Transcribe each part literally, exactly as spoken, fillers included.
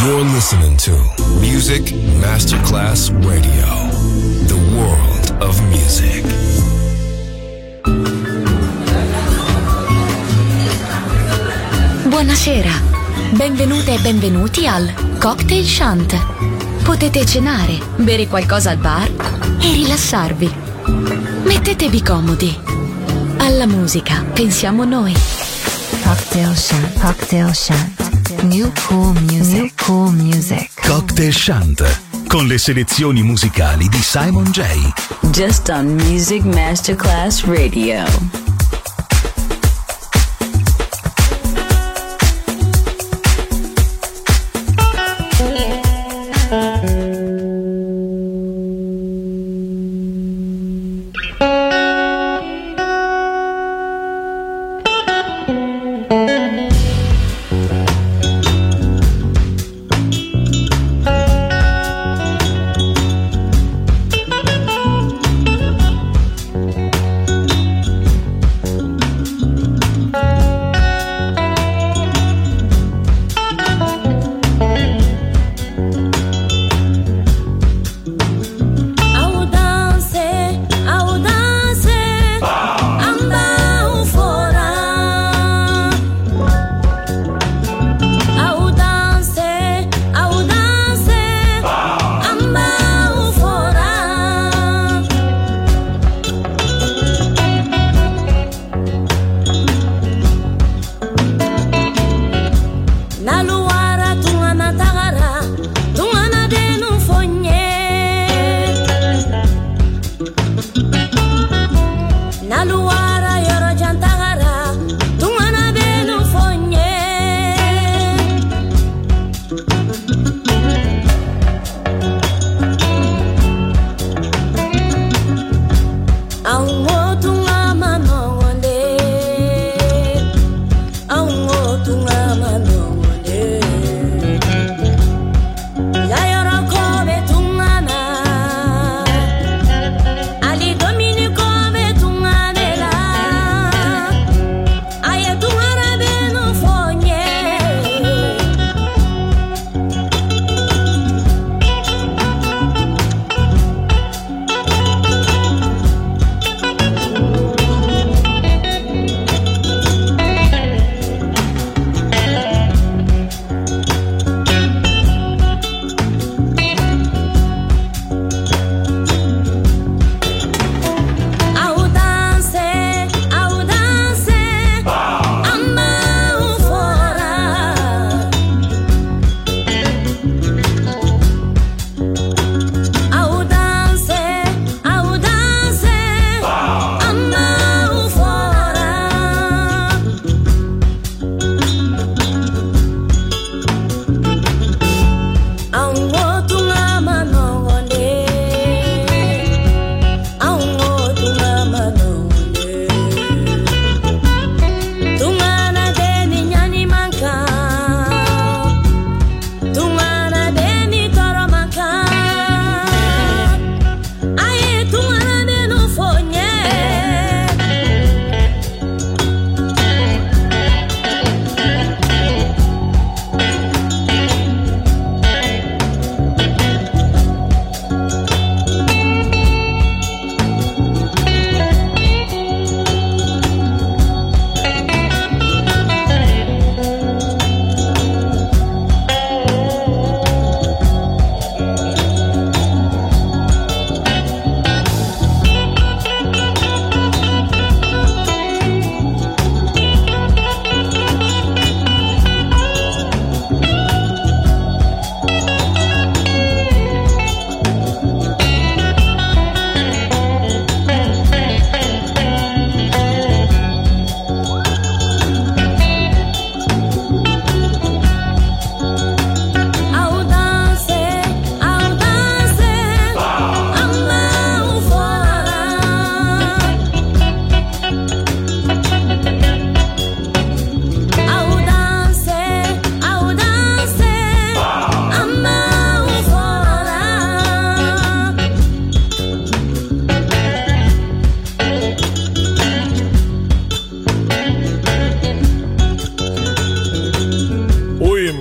You're listening to Music Masterclass Radio, the world of music. Buonasera, benvenute e benvenuti al Cocktail Shant. Potete cenare, bere qualcosa al bar e rilassarvi. Mettetevi comodi. Alla musica pensiamo noi. Cocktail Shant, Cocktail Shant. New cool music, New cool music. Cocktail Shant, con le selezioni musicali di Simon J. Just on Music Masterclass Radio.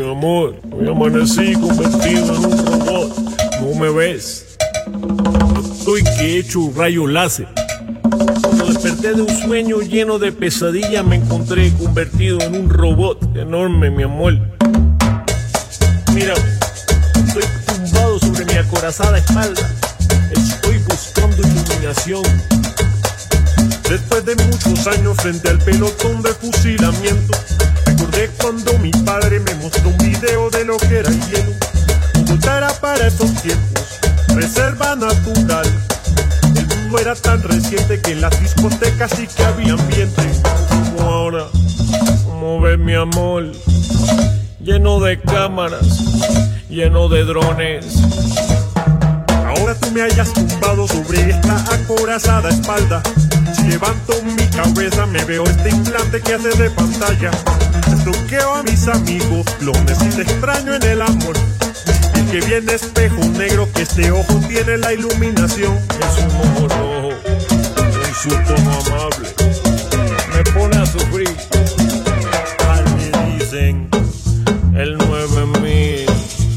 mi amor, hoy amanecí convertido en un robot. ¿No me ves? Estoy que he hecho un rayo láser. Cuando desperté de un sueño lleno de pesadillas, me encontré convertido en un robot enorme, mi amor. Mira, estoy tumbado sobre mi acorazada espalda. Estoy buscando iluminación. Después de muchos años frente al pelotón de fusilamiento, recordé cuando mi padre me mostró un video de lo que era el hielo. Bogotá era para esos tiempos reserva natural. El mundo era tan reciente que en las discotecas sí que había ambiente. Como ahora, como ves mi amor, lleno de cámaras, lleno de drones. Ahora tú me hayas tumbado sobre esta acorazada espalda. Si levanto mi cabeza me veo este implante que hace de pantalla. Estoqueo a mis amigos clones y te extraño en el amor. El que viene espejo negro, que este ojo tiene la iluminación. Es un ojo rojo, en su tono amable, me pone a sufrir. Al me dicen el nueve mil.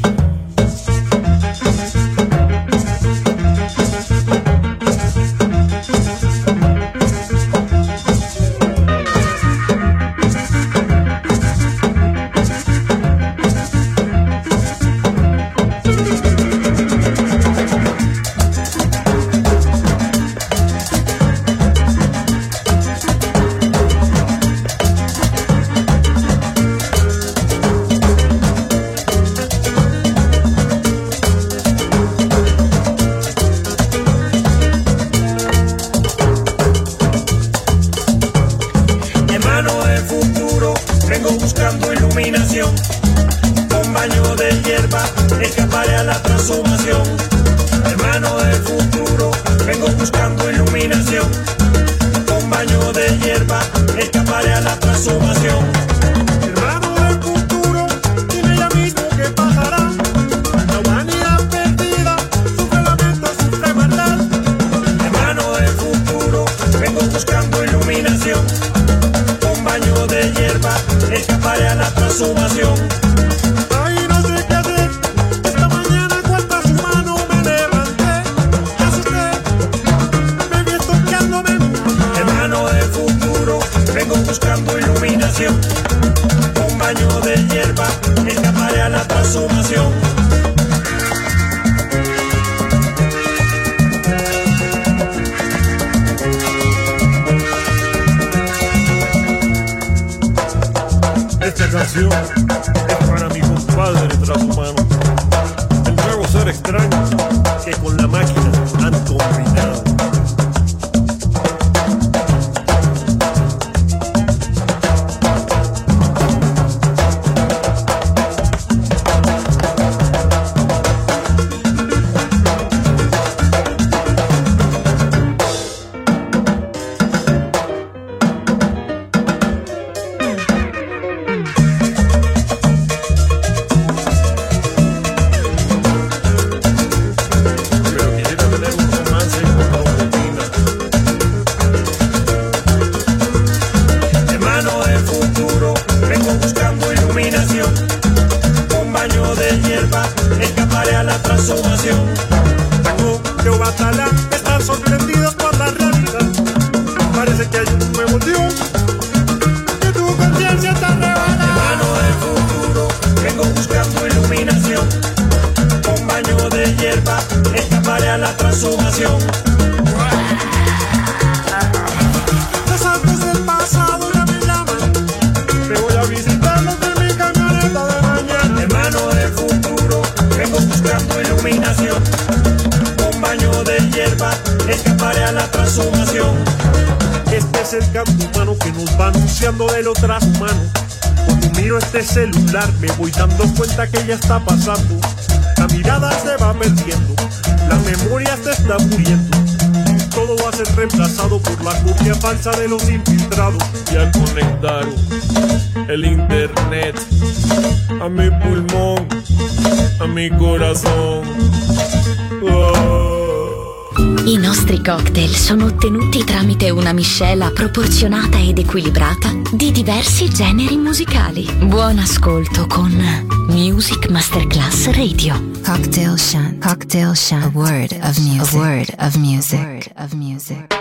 Me voy dando cuenta que ya está pasando. La mirada se va perdiendo, la memoria se está muriendo. Todo va a ser reemplazado por la copia falsa de los infiltrados. Y al conectar el internet a mi pulmón, a mi corazón, oh. I nostri cocktail sono ottenuti tramite una miscela proporzionata ed equilibrata di diversi generi musicali. Buon ascolto con Music Masterclass Radio. Cocktail Shant. Cocktail Shant. A word of music. A word of music. A word of music.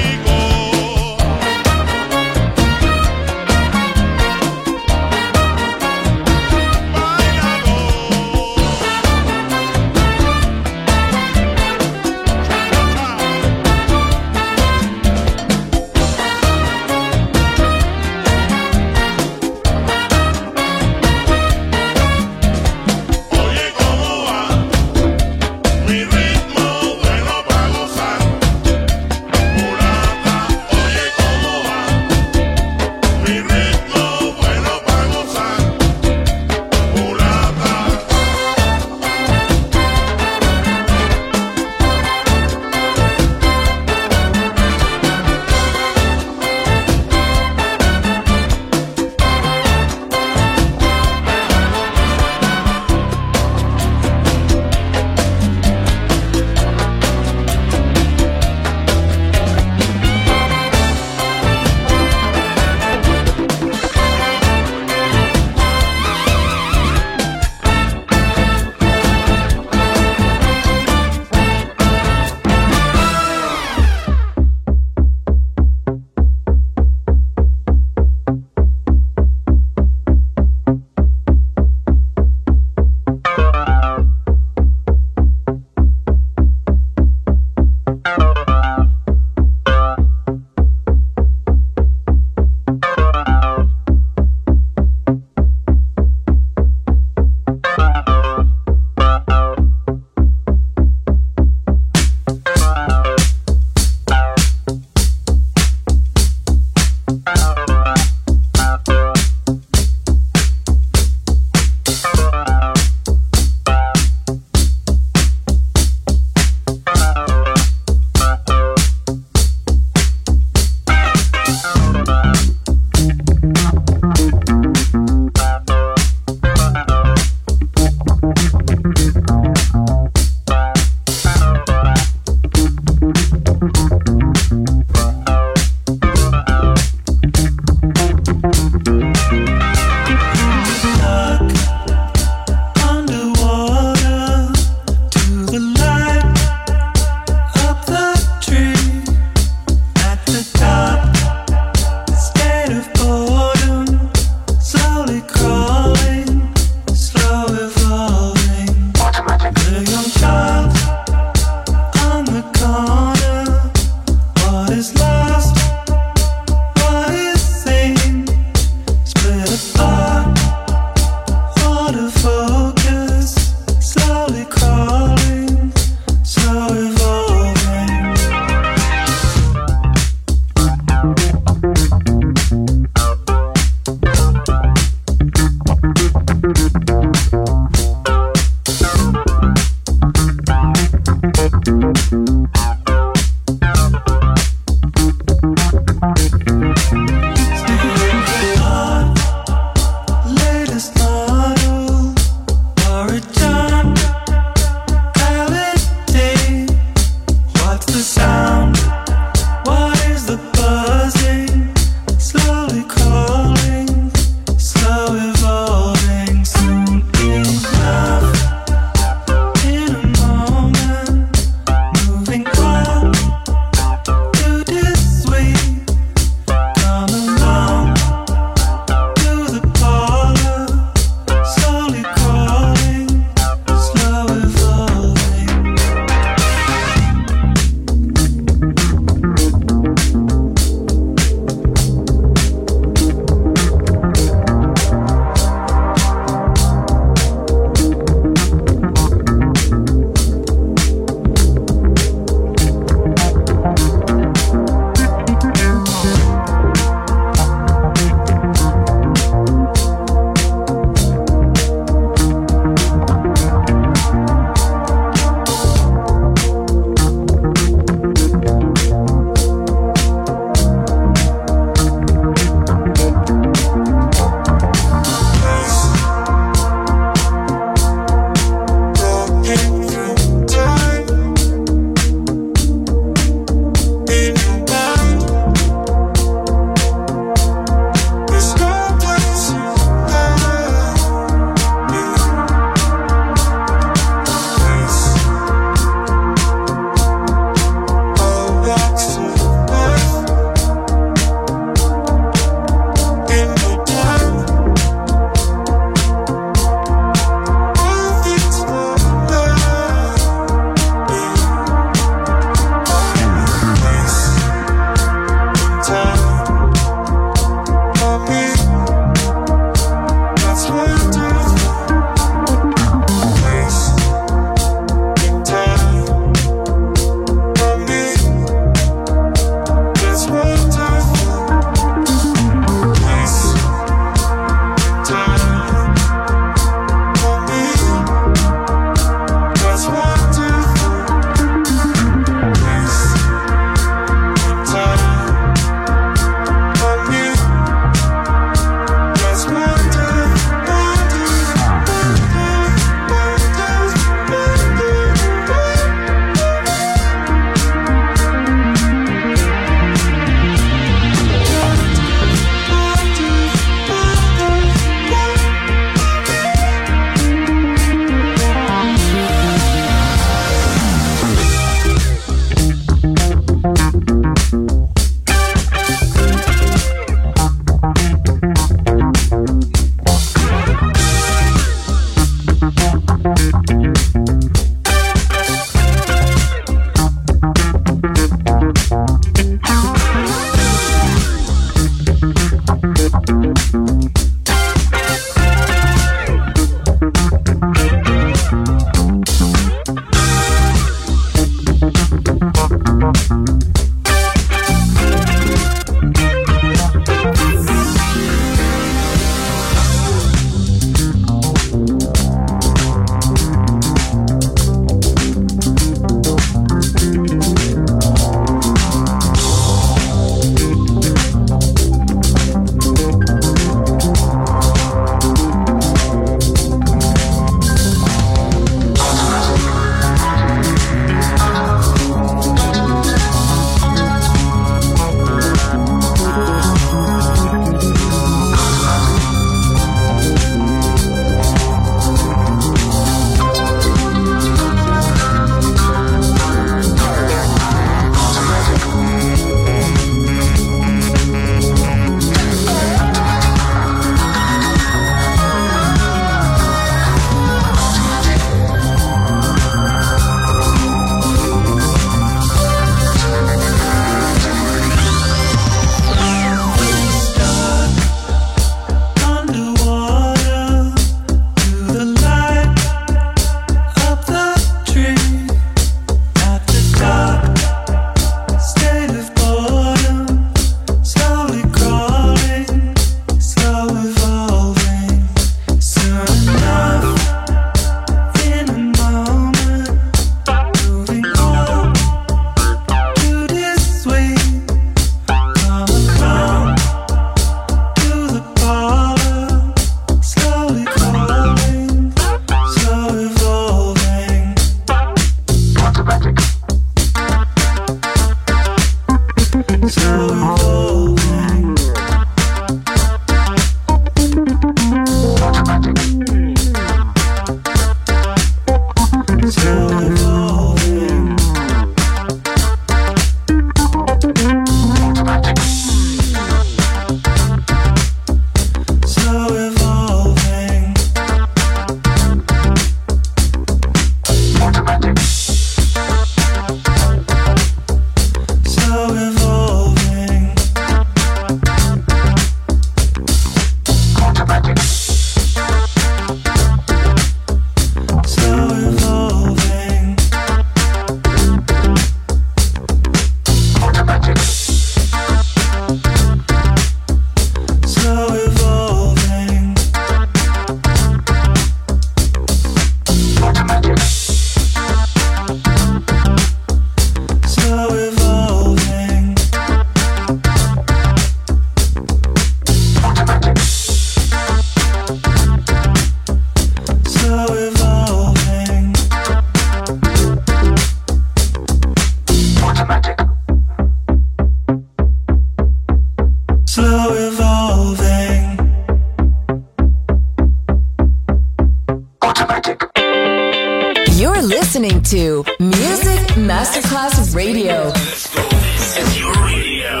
listening to Music Masterclass Radio. This is your radio.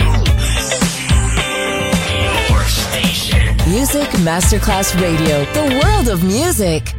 Your station. Music Masterclass Radio. The world of music.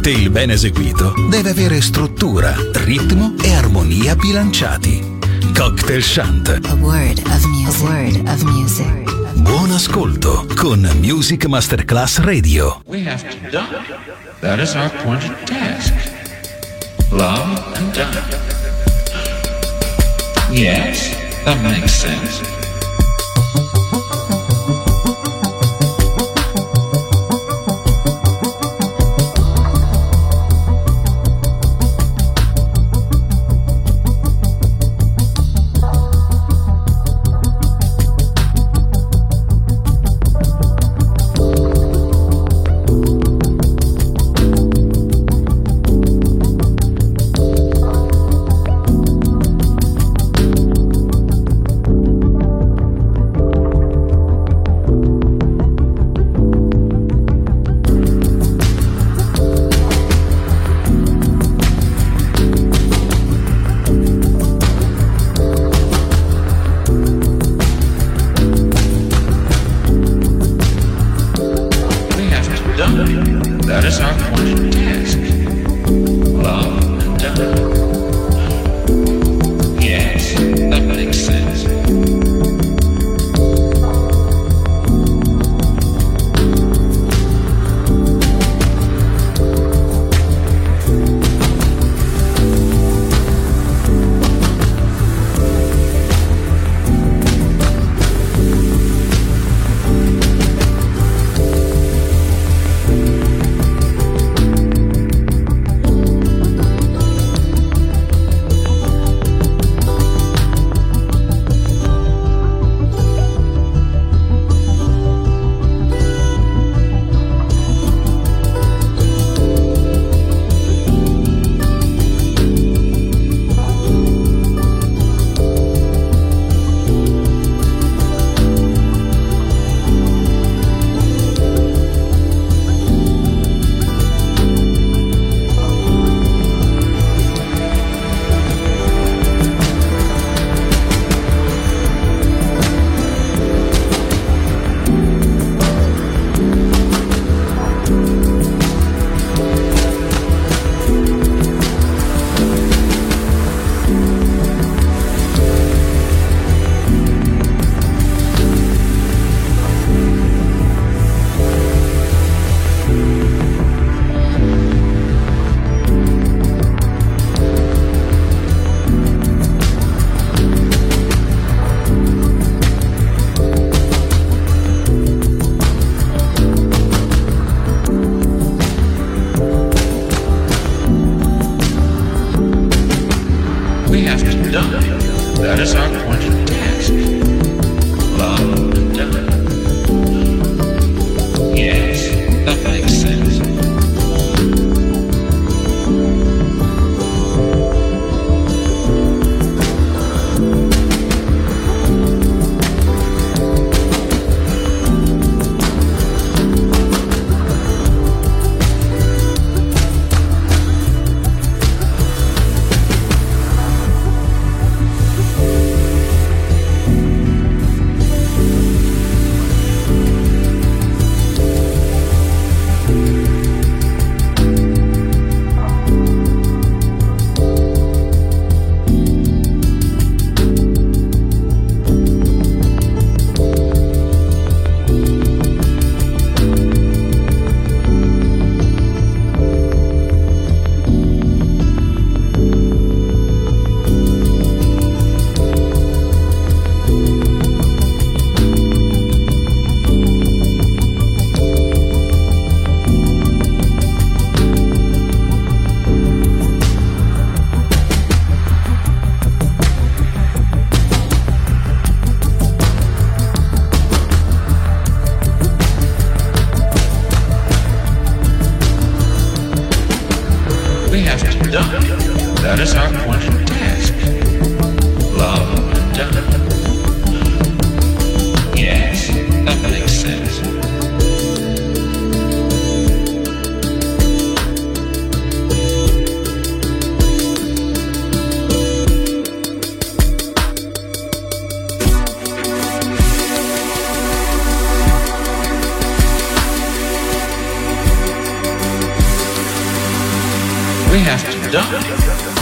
cocktail ben eseguito deve avere struttura, ritmo e armonia bilanciati. Cocktail Shant. A word of music. A word of music. Buon ascolto con Music Masterclass Radio. We have to die. That is our appointed task. Love and die. Yes, that makes sense. That is our appointed task. Love and die. Yes, that makes sense.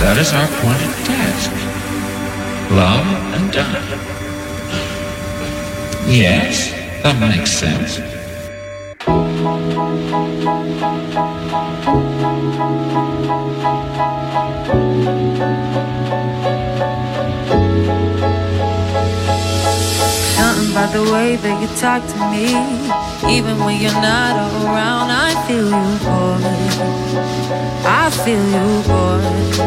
That is our appointed task. Love and die. Yes, that makes sense. Something about the way that you talk to me, even when you're not around, I feel you, boy. I feel you, boy.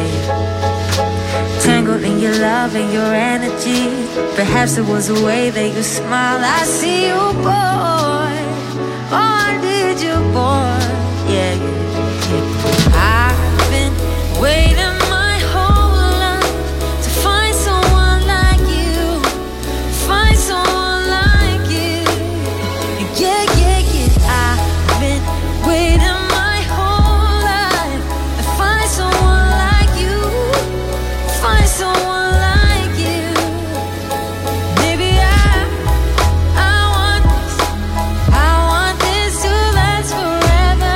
Tangled in your love and your energy. Perhaps it was the way that you smile. I see you, boy. Oh, I need you, boy. Yeah, yeah, yeah. I've been waiting my whole life to find someone like you. Find someone like you. Yeah, yeah, yeah. I've been waiting my whole life to find someone like you. Find someone like you. Maybe I, I want this, I want this to last forever.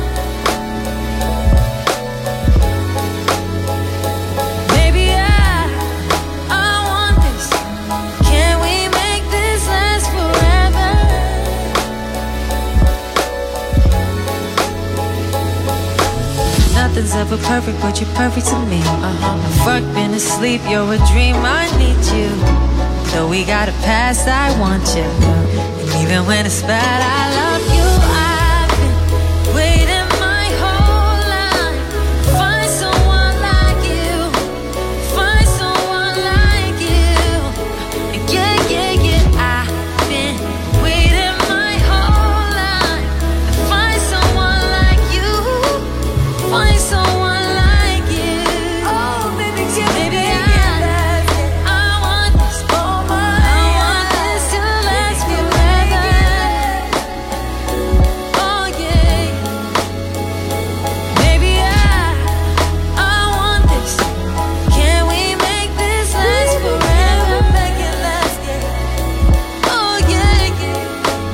Maybe I, I want this. Can we make this last forever? Nothing's ever perfect, but you're perfect to me. Uh-huh. I've worked, been asleep, you're a dream, I need you. Though we got a past, I want you. And even when it's bad, I love you. I've been waiting my whole life to find someone like you. Find someone like you. Yeah, yeah, yeah. I've been waiting my whole life to find someone like you. Find someone like you. Oh, baby, maybe I, I want this. Oh, my, I want this to last forever. Oh, yeah. Maybe I, I want this. Can we make this last forever? Make it last, yeah. Oh, yeah, yeah.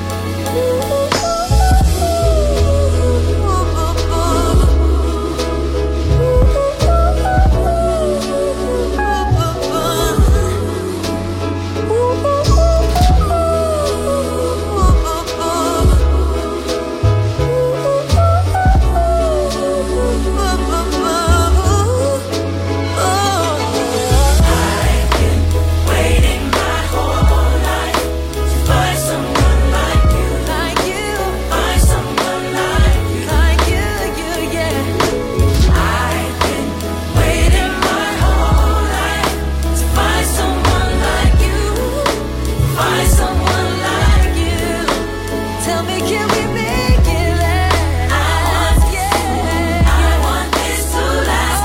Tell me, can we make it last? I want, yeah. I want this to last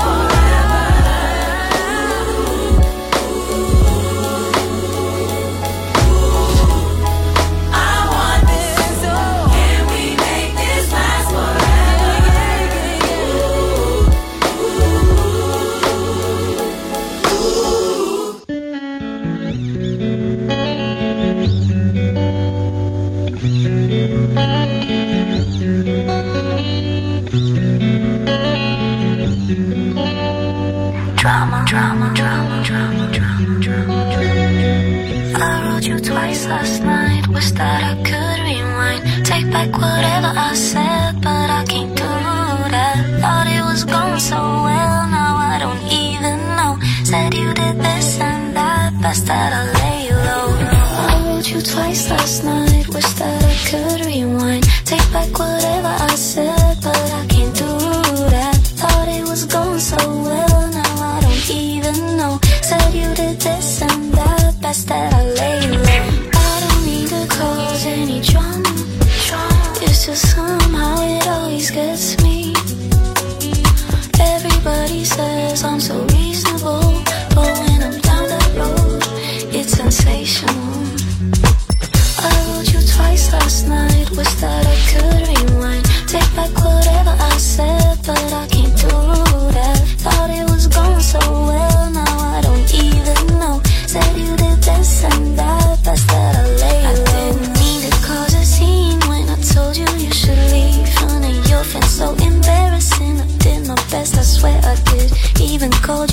forever. I want this, oh. Can we make this last Drama, drama, drama, drama, drama, drama, drama. I wrote you twice last night. Wish that I could rewind. Take back whatever I said, but I can't do that. Thought it was going so well, now I don't even know. Said you did this and that, best that I lay low. I wrote you twice last night. Wish that I could rewind. Take back whatever I said, but I can't do that. Thought it was going so well, now I don't even know. Said you did this and that, best that I lay low. I don't need to cause any drama. It's just somehow it always gets me. Everybody says I'm so reasonable, but when I'm down that road, it's sensational. I wrote you twice last night. Wish that I could rewind. Take back whatever I said, but I can't do that. Thought it was going so well, now I don't even know. Said you did this and that, best that I lay low. I didn't mean to cause a scene when I told you you should leave. Honey, your friend's so embarrassing. I did my best, I swear I did. Even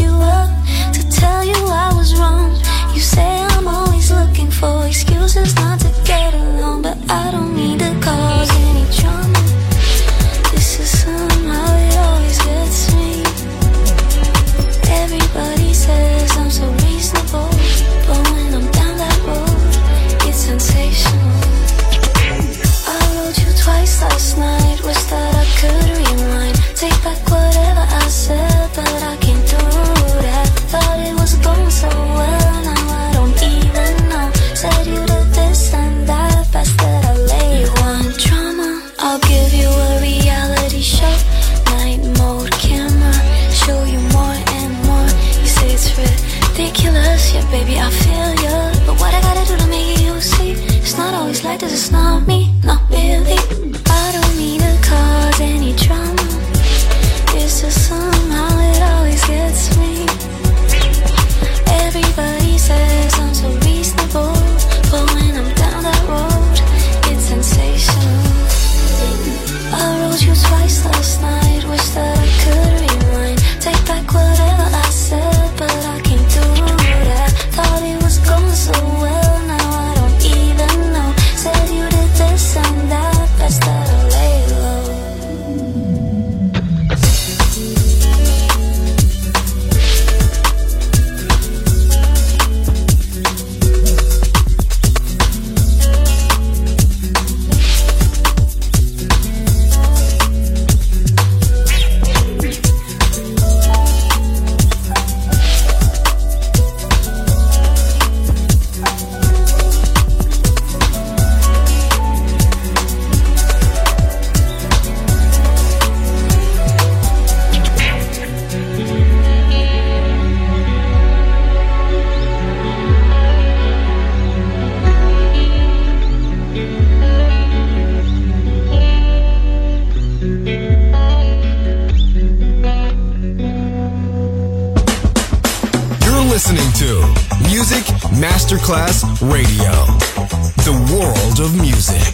you up to tell you I was wrong. You say I'm always looking for excuses not to get along, but I don't need to cause any drama. This is somehow it always gets me. Everybody says I'm so reasonable, but when I'm down that road, it's sensational. I wrote you twice last night, wish that I could rewind, take back whatever I said, but I can't do that. Thought it was going so well, now I don't even know. Said you did this and that, best that I lay one drama. I'll give you a reality show, night mode camera, show you more and more. You say it's ridiculous, yeah baby I feel ya, but what I gotta do to make you see? It's not always like this, it's not me, not really. I don't need to cause any drama, it's just somehow it always gets me. Everybody says I'm so reasonable, but when I'm down that road, it's sensational. I wrote you twice last night, wish that I could rewind, take back whatever I said, but I can't do that. Thought it was going so well, now I don't even know. Said you did this and that, best that I lay low. Listening to Music Masterclass Radio, the world of music.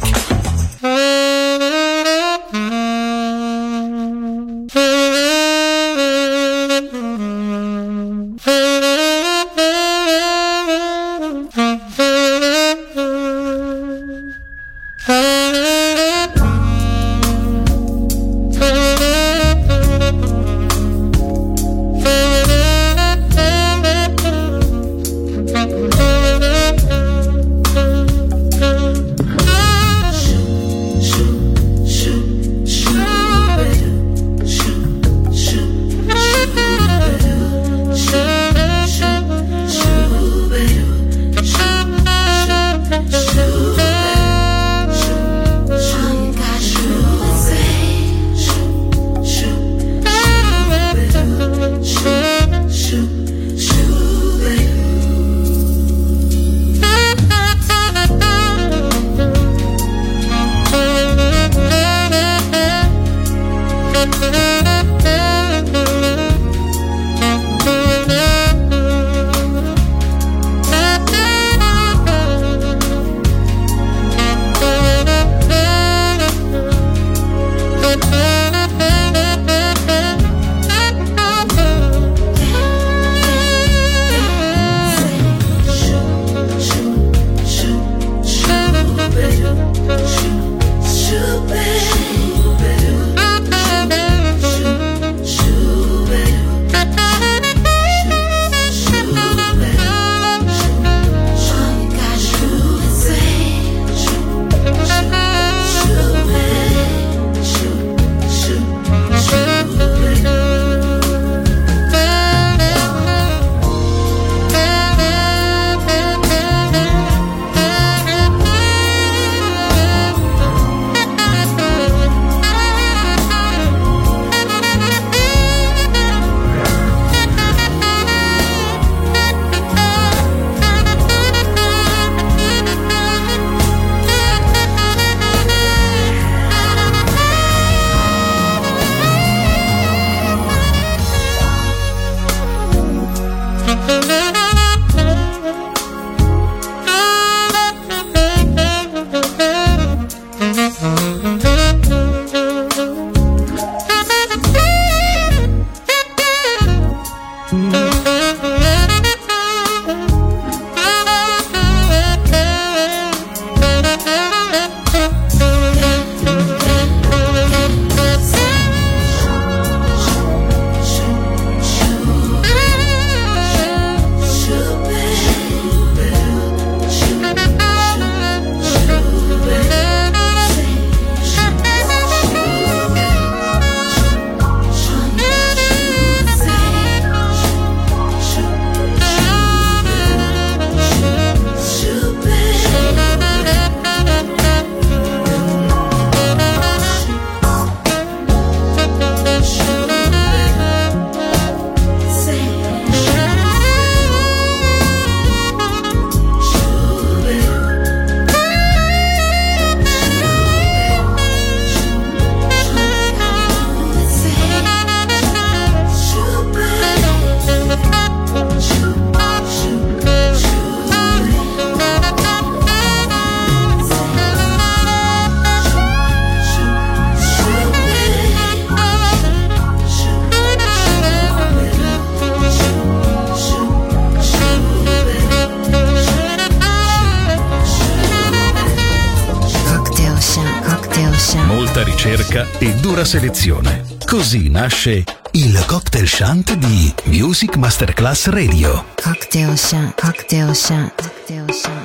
molta ricerca e dura selezione. Così nasce il Cocktail Shant di Music Masterclass Radio. Cocktail Shant, Cocktail Shant, Cocktail Shant.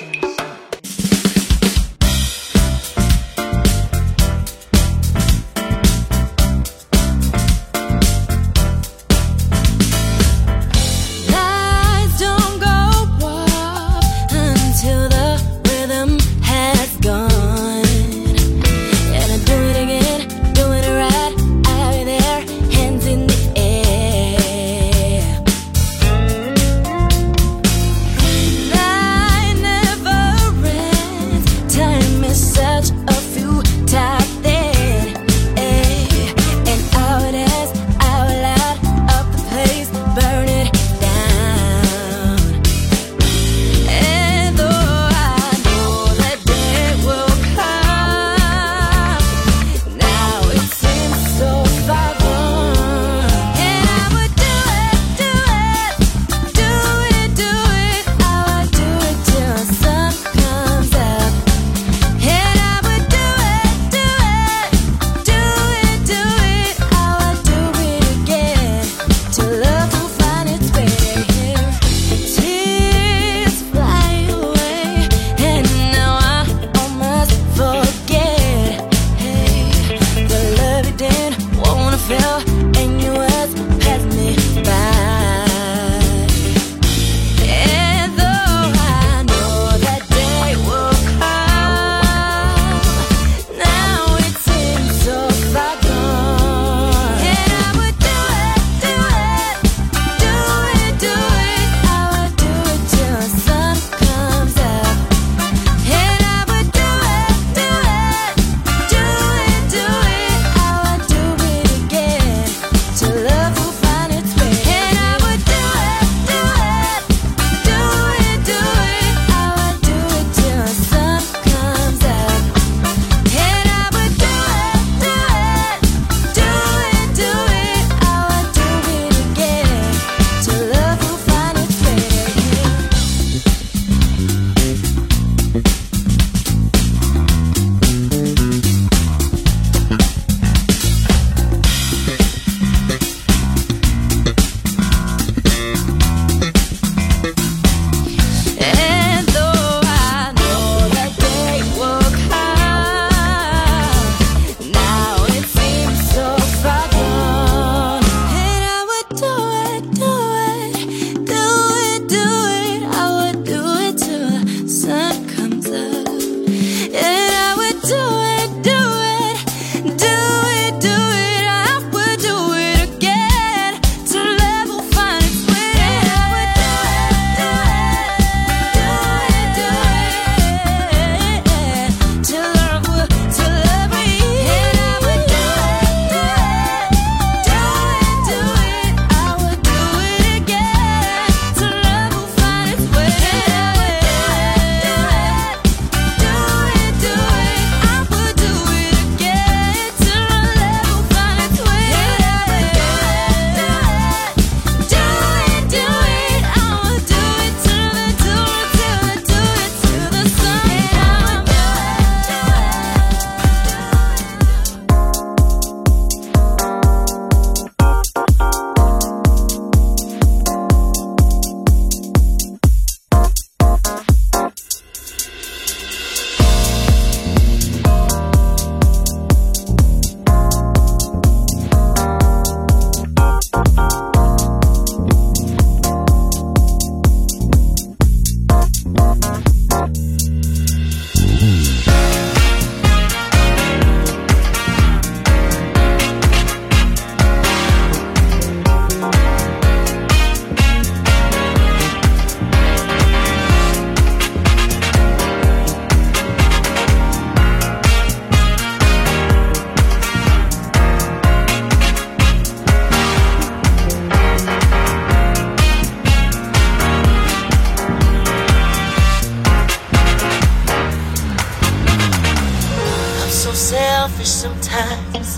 selfish sometimes.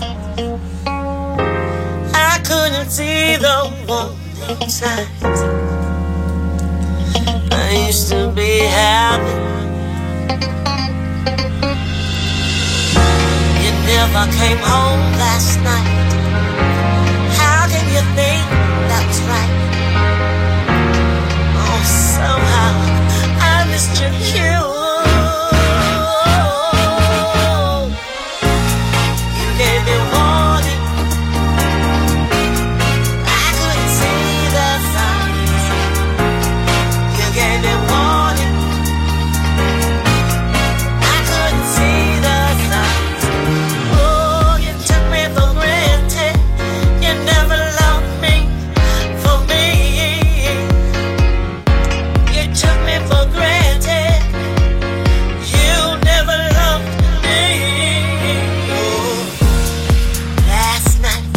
I couldn't see the one inside. I used to be happy. You never never came home last night. How can you think that was right? Oh, somehow I missed your cue. You gave me warning. I couldn't see the signs. You gave me warning. I couldn't see the signs. Oh, you took me for granted. You never loved me for me. You took me for granted. You never loved me. Oh, last night,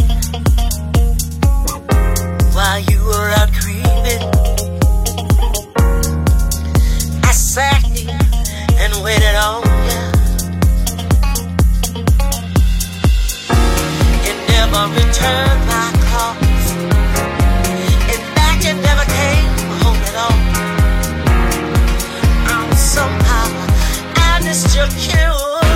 while you were out creeping, I sat here and waited on you. You never returned my calls. In fact, you never came home at all. Um, somehow I missed your cue.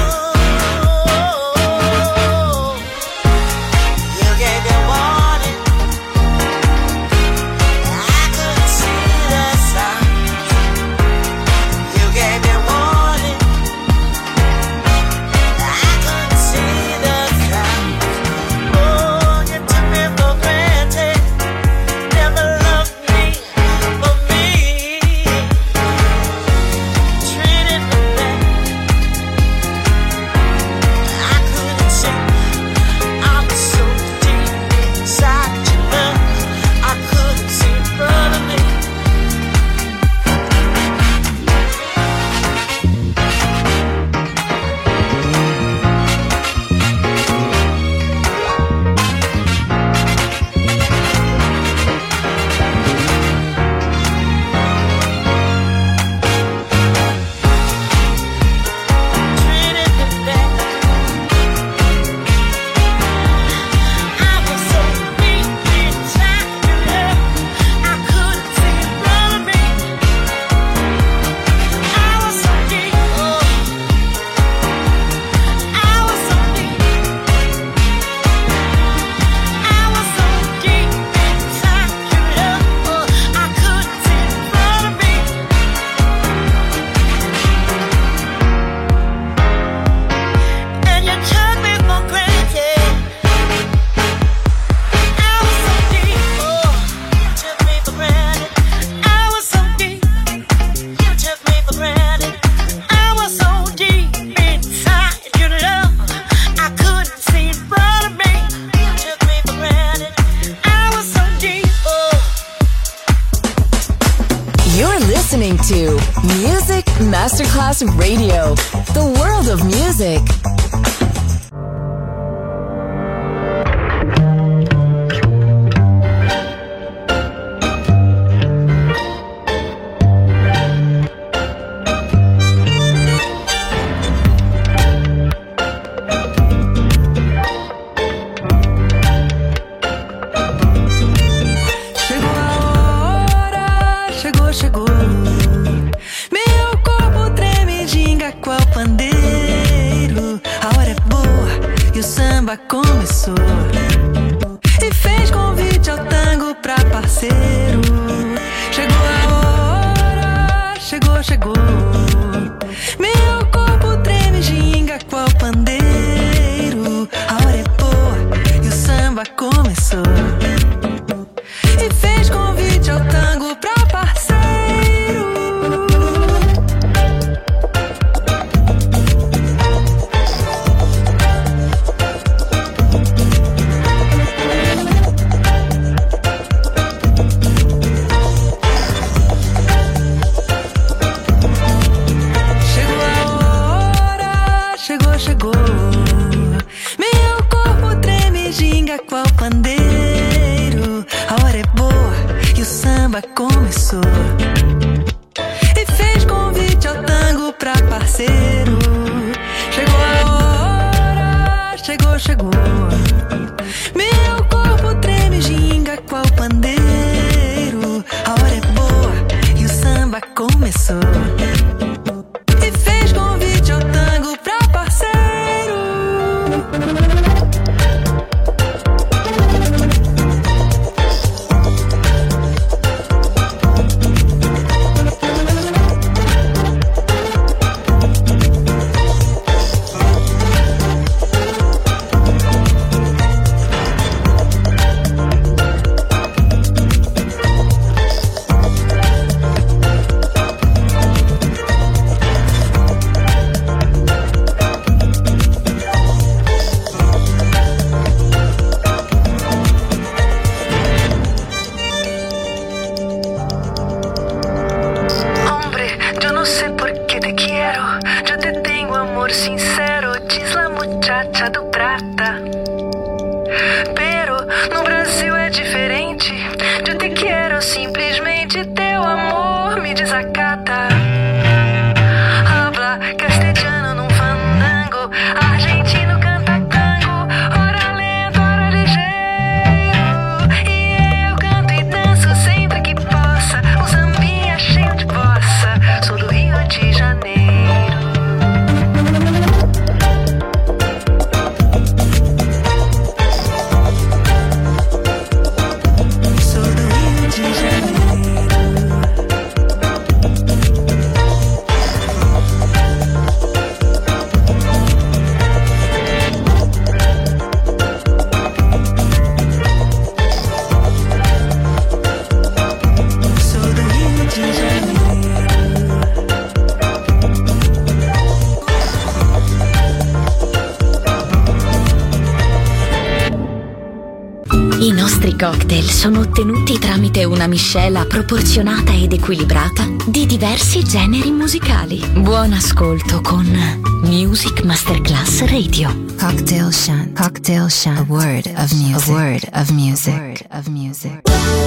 You gave me warning. I couldn't see the signs. You gave me warning. I couldn't see the signs. Oh, you took me for granted. Never loved me for me. Treated me bad. I couldn't see. I was so deep inside your love. I couldn't see in front of me. Treated me bad. I was so deep inside your love. I couldn't see in front of me. I was so deep. Oh, I was so deep. I was so deep inside your love. Oh, I couldn't see in front of me. And you took me for granted. I was so deep. Oh, you took me for granted. I was so deep. You took me for granted. I was so deep inside your love. I couldn't see in front of me. You took me for granted. I was so deep. Oh. You're listening to Music Masterclass Radio, the world of music. Chegou a hora, chegou, chegou. Meu corpo treme, ginga qual pandeiro. A hora é boa e o samba começou. E fez convite ao tango pra parceiro. Chegou a hora, chegou, chegou. Meu corpo treme, ginga qual pandeiro. A hora é boa e o samba começou. E fez convite ao tango pra parceiro. Chegou a hora, chegou, chegou. Meu corpo treme, ginga qual pandeiro. A hora é boa e o samba começou. E fez convite ao tango pra parceiro. Chegou a hora, chegou, chegou. Meu corpo treme, ginga qual pandeiro. A hora é boa e o samba começou. E fez convite ao tango pra parceiro. Finalmente teu amor me desacata. Habla castelhano num fandango, argentino canta tango, ora lento, ora ligeiro. E eu canto e danço sempre que possa, um sambinha cheio de bossa. Sou do Rio de Janeiro. Sou do Rio de Janeiro. Sou do Rio de Janeiro. I nostri cocktail sono ottenuti tramite una miscela proporzionata ed equilibrata di diversi generi musicali. Buon ascolto con Music Masterclass Radio. Cocktail Shant. Cocktail Shant. A word of music. A word of music. A word of music.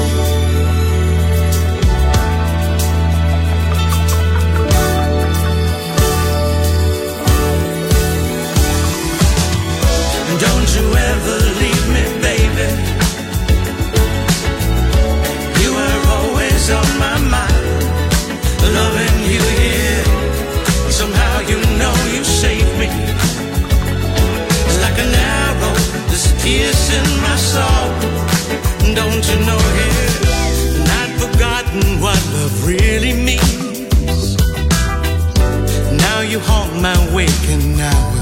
Don't you ever leave me, baby. You were always on my mind, loving you here. Somehow you know you saved me. It's like an arrow that's piercing my soul. Don't you know it? And I'd forgotten what love really means. Now you haunt my waking hours.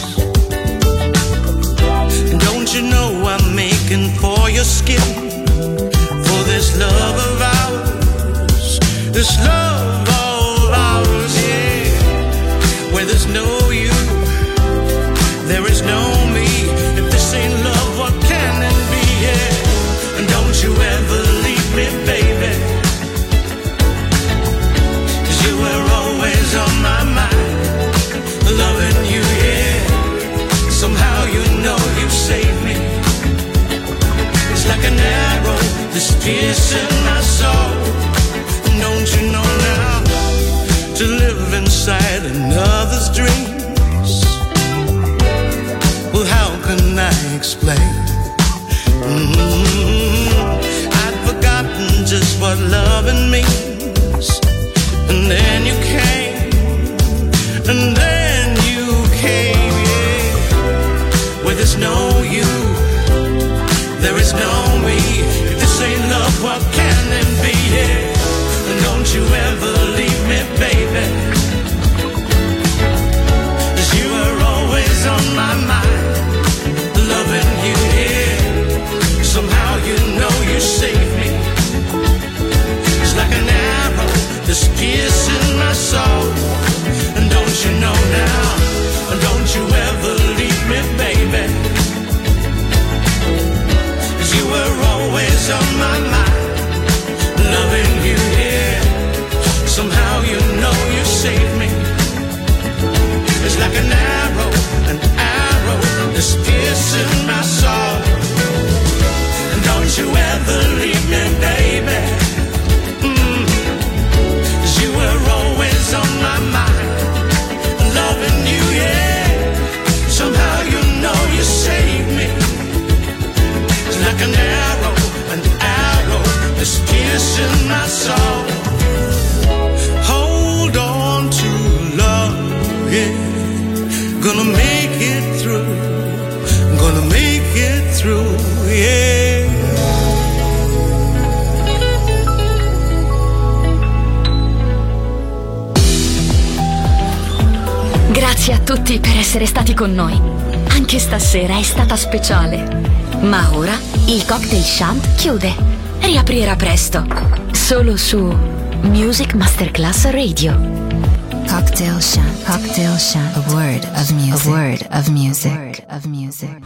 Don't you know I'm making for your skin, for this love of ours, this love of ours, yeah. Where there's no you, there is no me. If this ain't love, what can it be, yeah. And don't you ever leave me, baby, 'cause you were always on my mind, loving you, yeah. Somehow you know you saved me. It's like an arrow that's piercing my soul. Don't you know now, to live inside another's dreams, well, how can I explain? Mm-hmm. I'd forgotten just what loving means. And then you came, and then you came, yeah. Where there's no you, there is no me. If this ain't love, what can it be, yeah. And don't you ever leave me, baby, 'cause you were always on my mind, loving you, yeah. Somehow you know you saved me. It's like an arrow that's piercing my soul. And don't you know now, don't you ever leave me, baby, 'cause you were always on my mind, loving you, yeah. Somehow you know you saved me. It's like an arrow, an arrow that's piercing my soul. And don't you ever leave me, baby, mm. 'Cause you were always on my mind, loving you, yeah. Somehow you know you saved me. It's like an arrow, an arrow that's piercing my soul. Hold on to love, yeah. Gonna make it through, gonna make it through, yeah. Grazie a tutti per essere stati con noi. Anche stasera è stata speciale. Ma ora il Cocktail Shant chiude. Riaprirà presto. Solo su Music Masterclass Radio. Cocktail Shant. Cocktail Shant. A word of music. A word of music. A word of music.